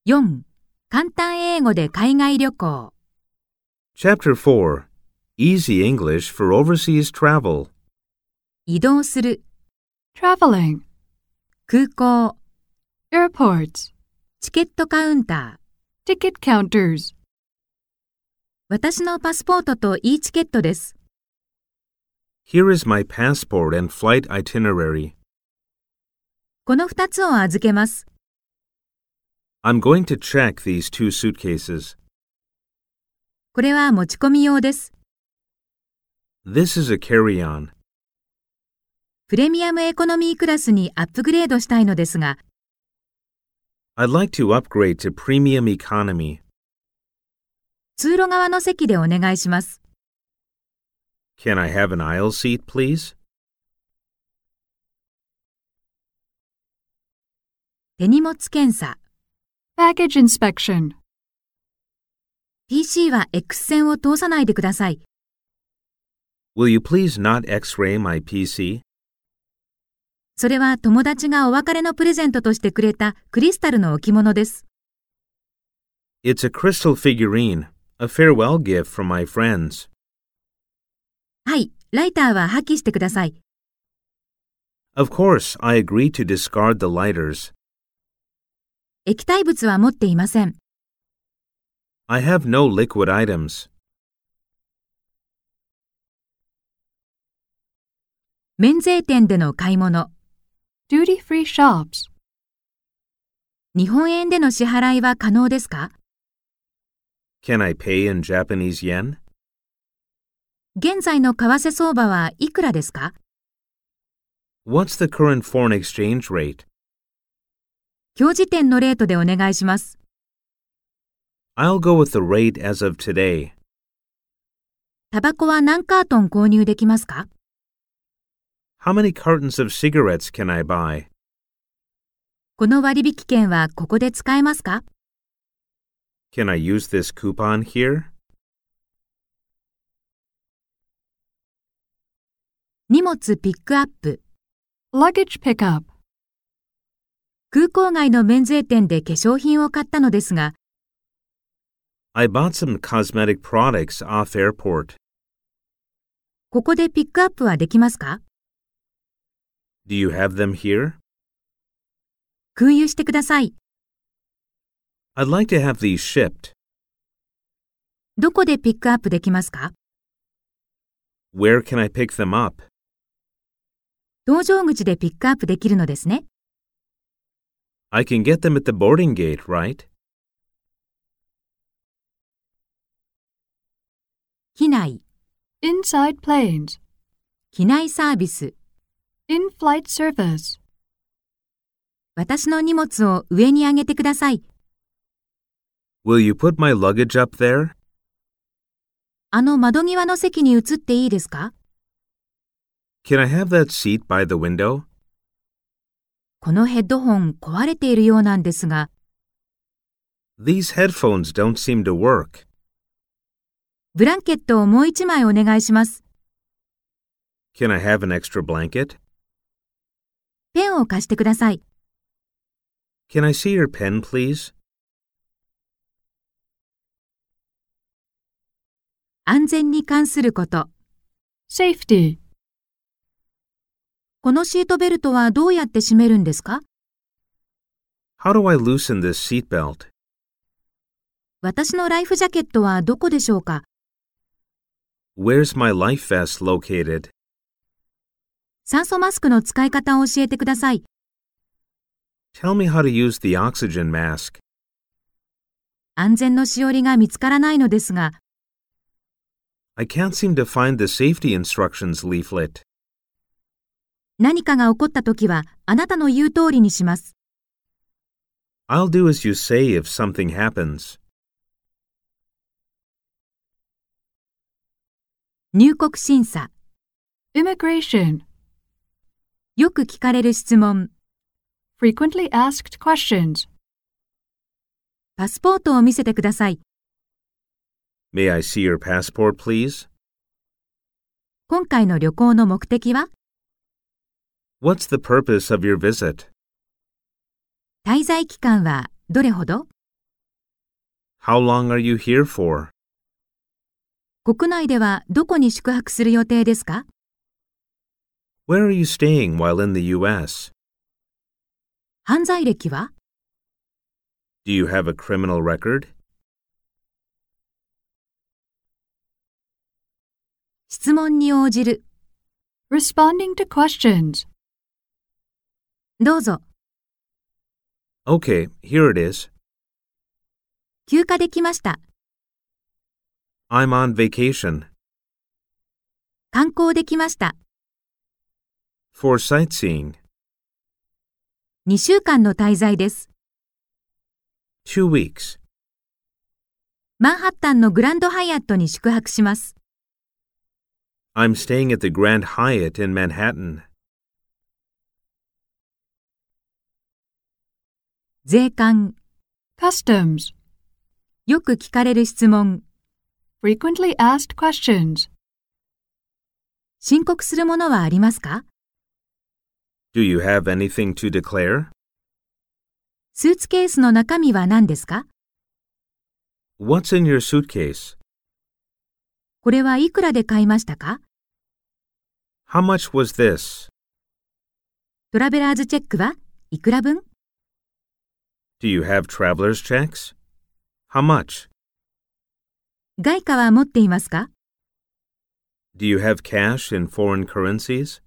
4. 簡単英語で海外旅行。 Chapter 4 Easy English for Overseas Travel. 移動する、 traveling, 空港、 airports, チケットカウンター。 ticket counters. 私のパスポートと e チケットです。 Here is my passport and flight itinerary. この2つを預けます。 I'm going to check these 2 suitcases. これは持ち込み用です。 This is a carry-on. プレミアムエコノミークラスにアップグレードしたいのですが、 I'd like to upgrade to premium economy. 通路側の席でお願いします。 Can I have an aisle seat, please? 手荷物検査。 Baggage inspection. PC は X 線を通さないでください。 Will you please not X-ray my PC? それは友達がお別れのプレゼントとしてくれたクリスタルの置物です。 It's a crystal figurine, a farewell gift from my friends. はい、ライターは破棄してください。 Of course, I agree to discard the lighters. 液体物は持っていません。 I have no liquid items. 免税店での買い物。 Duty-free shops. 日本円での支払いは可能ですか？ Can I pay in Japanese yen? 現在の為替相場はいくらですか？ What's the current foreign exchange rate? 今日時点のレートでお願いします。 I'll go with the rate as of today. タバコは何カートン購入できますか？ How many cartons of cigarettes can I buy? この割引券はここで使えますか？ Can I use this coupon here? 荷物ピックアップ。 Luggage pickup. 空港外の免税店で化粧品を買ったのですが、 I bought some cosmetic products off airport. ここでピックアップはできますか？ Do you have them here? 空輸してください。 I'd like to have these shipped. どこでピックアップできますか？ Where can I pick them up? 搭乗口でピックアップできるのですね。 I can get them at the boarding gate, right? 機内、 Inside planes. 機内サービス。 In-flight service. 私の荷物を上に上げてください。 Will you put my luggage up there? あの窓際の席に移っていいですか？ Can I have that seat by the window? このヘッドホン壊れているようなんですが、 These headphones don't seem to work. ブランケットをもう一枚お願いします。 Can I have an extra blanket? ペンを貸してください。 Can I see your pen, please? 安全に関すること。 Safety. このシートベルトはどうやって締めるんですか？ How do I loosen this seatbelt? 私のライフジャケットはどこでしょうか？ Where's my life vest located? 酸素マスクの使い方を教えてください。 Tell me how to use the oxygen mask. 安全のしおりが見つからないのですが、 I can't seem to find the safety instructions leaflet. 何かが起こったときはあなたの言う通りにします。 I'll do as you say if something happens. 入国審査。 Immigration. よく聞かれる質問。 Frequently asked questions. パスポートを見せてください。 May I see your passport, please? 今回の旅行の目的は？ What's the purpose of your visit? 滞在期間はどれほど？ How long are you here for? 国内ではどこに宿泊する予定ですか？ Where are you staying while in the U.S.? 犯罪歴は？ Do you have a criminal record? 質問に応じる。 Responding to questions. どうぞ。 Okay, here it is. 休暇できました。 I'm on vacation. 観光できました。 For sightseeing. 2週間の滞在です。 2 weeks. マンハッタンのグランドハイアットに宿泊します。 I'm staying at the Grand Hyatt in Manhattan. 税関。 Customs. よく聞かれる質問。 Frequently asked questions. 申告するものはありますか？ Do you have anything to declare? スーツケースの中身は何ですか？ What's in your suitcase? これはいくらで買いましたか？ How much was this? トラベラーズチェックはいくら分？ Do you have traveler's checks? How much? 外貨は持っていますか？ Do you have cash in foreign currencies?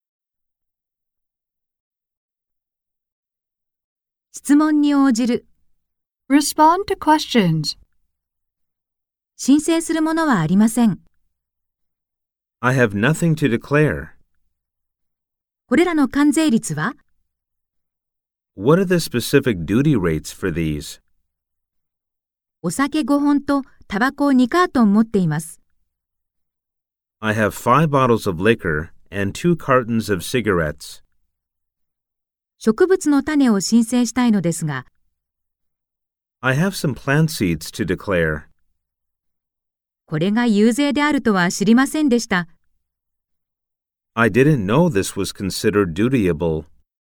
質問に応じる。 Respond to questions. 申請するものはありません。 I have nothing to declare. これらの関税率は？ What are the specific duty rates for these? お酒5本とタバコ2カートン持っています。 I have 5 bottles of liquor and 2 cartons of cigarettes. 植物の種を申請したいのですが、 I have some plant seeds to declare. これが遊税であるとは知りませんでした。 I didn't know this was considered dutiable.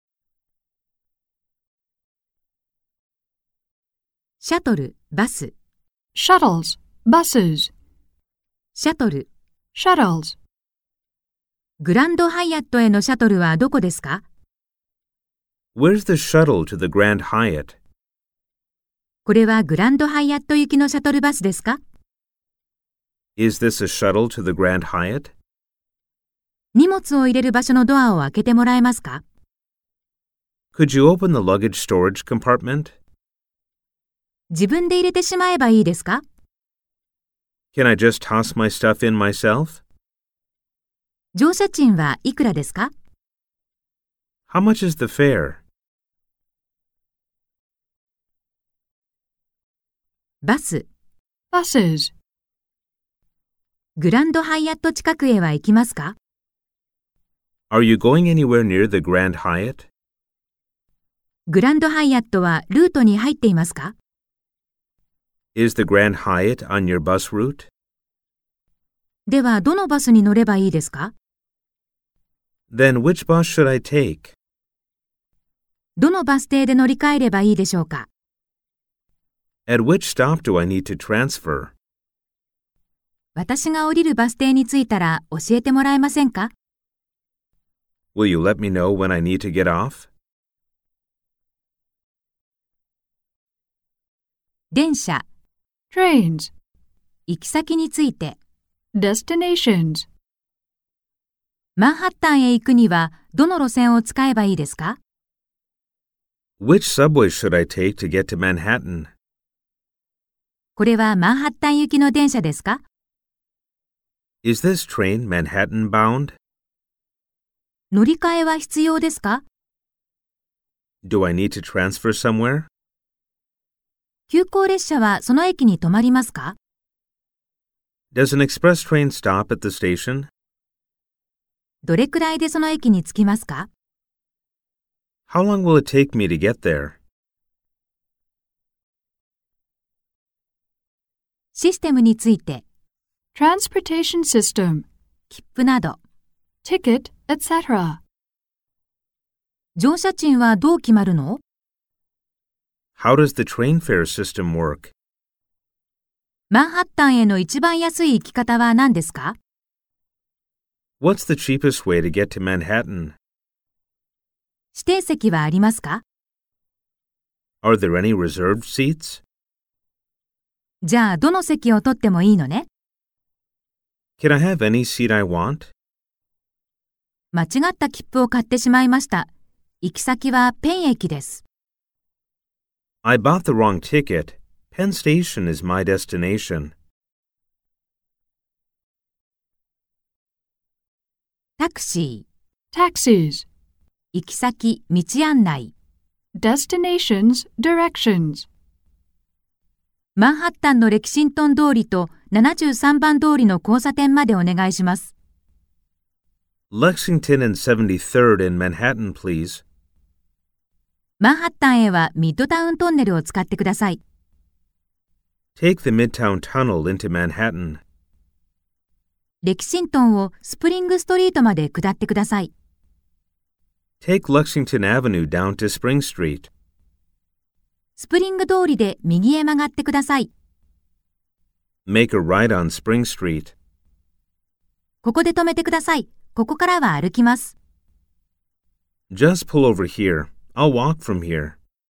シャトル、バス。 Shuttles. Buses. シャトル。 Shuttles. グランドハイアットへのシャトルはどこですか？ Where's the shuttle to the Grand Hyatt? これはグランドハイアット行きのシャトルバスですか？ Is this a shuttle to the Grand Hyatt? 荷物を入れる場所のドアを開けてもらえますか？ Could you open the luggage storage compartment? 自分で入れてしまえばいいですか？ Can I just toss my stuff in myself? 乗車賃はいくらですか？ How much is the fare? バス。 Buses. グランドハイアット近くへは行きますか？ Are you going anywhere near the Grand Hyatt? グランドハイアットはルートに入っていますか？ Is the Grand Hyatt on your bus route? ではどのバスに乗ればいいですか？ Then which bus should I take? どのバス停で乗り換えればいいでしょうか？ At which stop do I need to transfer? 私が降りるバス停に着いたら教えてもらえませんか？ Will you let me know when I need to get off? 電車。 Trains. 行き先について。 Destinations. マンハッタンへ行くにはどの路線を使えばいいですか？ Which subway should I take to get to Manhattan? これはマンハッタン行きの電車ですか？ Is this train Manhattan bound? 乗り換えは必要ですか？ Do I need to transfer somewhere? 急行列車はその駅に止まりますか？ Does an express train stop at the station? どれくらいでその駅に着きますか？ How long will it take me to get there? システムについて。 Transportation system. 切符など。 Ticket, etc. 乗車賃はどう決まるの？ How does the train fare system work? マンハッタンへの一番安い行き方は何ですか？ What's the cheapest way to get to Manhattan? 指定席はありますか？ Are there any reserved seats? じゃあ、どの席を取ってもいいのね？ Can I have any seat I want? 間違った切符を買ってしまいました。行き先はペン駅です。 I bought the wrong ticket. Penn Station is my destination. タクシ Taxis. ー、行き先、道案内。 Destinations, directions. マンハッタンのレキシントン通りと73番通りの交差点までお願いします。 Lexington and 73rd in Manhattan, please. マンハッタンへはミッドタウントンネルを使ってください。 Take the Midtown Tunnel into Manhattan. レキシントンをスプリングストリートまで下ってください。 Take Lexington Avenue down to Spring Street. スプリング通りで右へ曲がってください。 Make a right on Spring Street. ここで止めてください。ここからは歩きます。 Just pull over here. I'll walk from here.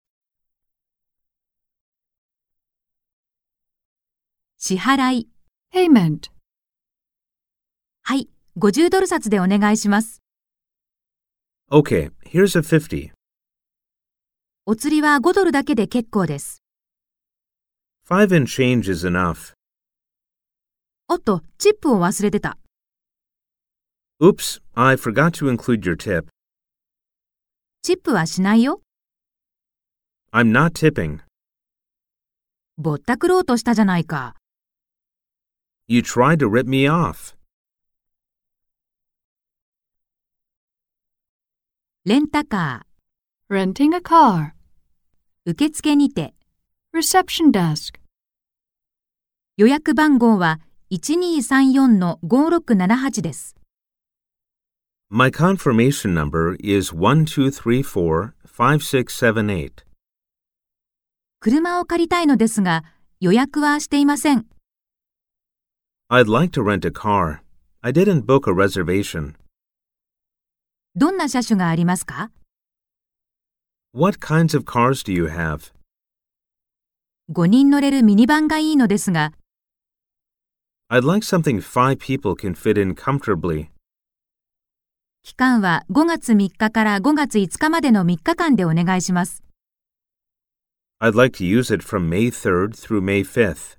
支払い。 Payment. はい、50ドル札でお願いします。 Okay, here's a 50. お釣りは5ドルだけで結構です。 $5 and change is enough. おっと、チップを忘れてた。 Oops, I forgot to include your tip. チップはしないよ。 I'm not tipping. ぼったくろうとしたじゃないか。 You tried to rip me off. レンタカ Renting a car. ー、受付にて。 Reception desk. 予約番号は1234-5678です。 My confirmation number is 1234-5678. 車を借りたいのですが、予約はしていません。 I'd like to rent a car. I didn't book a reservation. どんな車種がありますか？ What kinds of cars do you have? 5人乗れるミニバンがいいのですが、 I'd like something 5 people can fit in comfortably. 期間は5月3日から5月5日までの3日間でお願いします。 I'd like to use it from May 3rd through May 5th.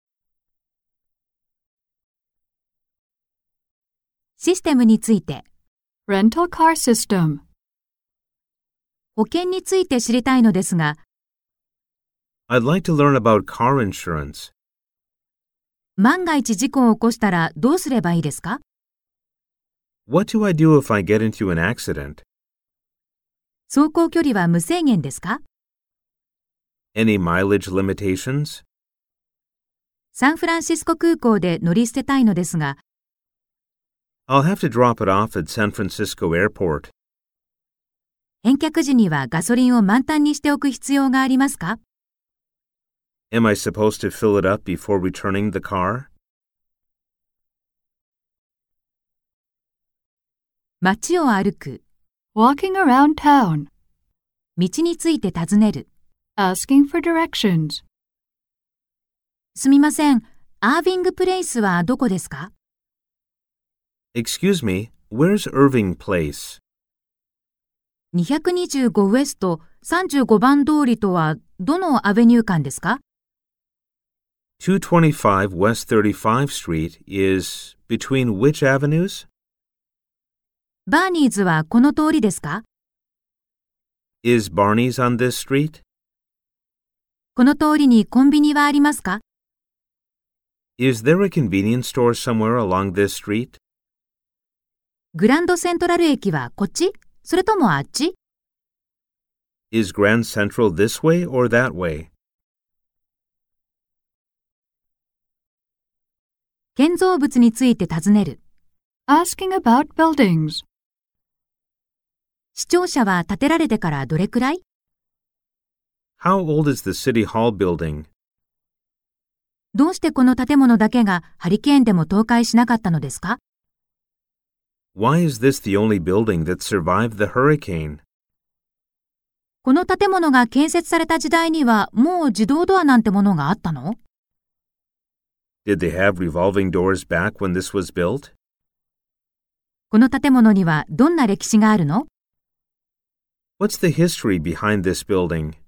システムについて。 Rental car system. 保険について知りたいのですが、 I'd like to learn about car insurance. 万が一事故を起こしたらどうすればいいですか？ What do I do if I get into an accident? 走行距離は無制限ですか？ Any mileage limitations? サンフランシスコ空港で乗り捨てたいのですが、 I'll have to drop it off at San Francisco Airport. 返却時にはガソリンを満タンにしておく必要がありますか？ Am I supposed to fill it up before returning the car? 街を歩く。 Walking around town. 道について尋ねる。 Asking for directions. すみません。アービングプレイスはどこですか？ Excuse me, where's Irving Place? 225ウエスト35番通りとはどのアベニュー間ですか？ 225 West 35th Street is between which avenues? バーニーズはこの通りですか？ Is Barney's on this street? この通りにコンビニはありますか？ Is there a convenience store somewhere along this street? グランドセントラル駅はこっち？それともあっち？ Is Grand Central this way or that way? 建造物について尋ねる。 Asking about buildings. 市庁舎は建てられてからどれくらい？ How old is the City Hall building? どうしてこの建物だけがハリケーンでも倒壊しなかったのですか？ Why is this the only building that survived the hurricane? この建物が建設された時代にはもう自動ドアなんてものがあったの？ Did they have revolving doors back when this was built? この建物にはどんな歴史があるの？ What's the history behind this building?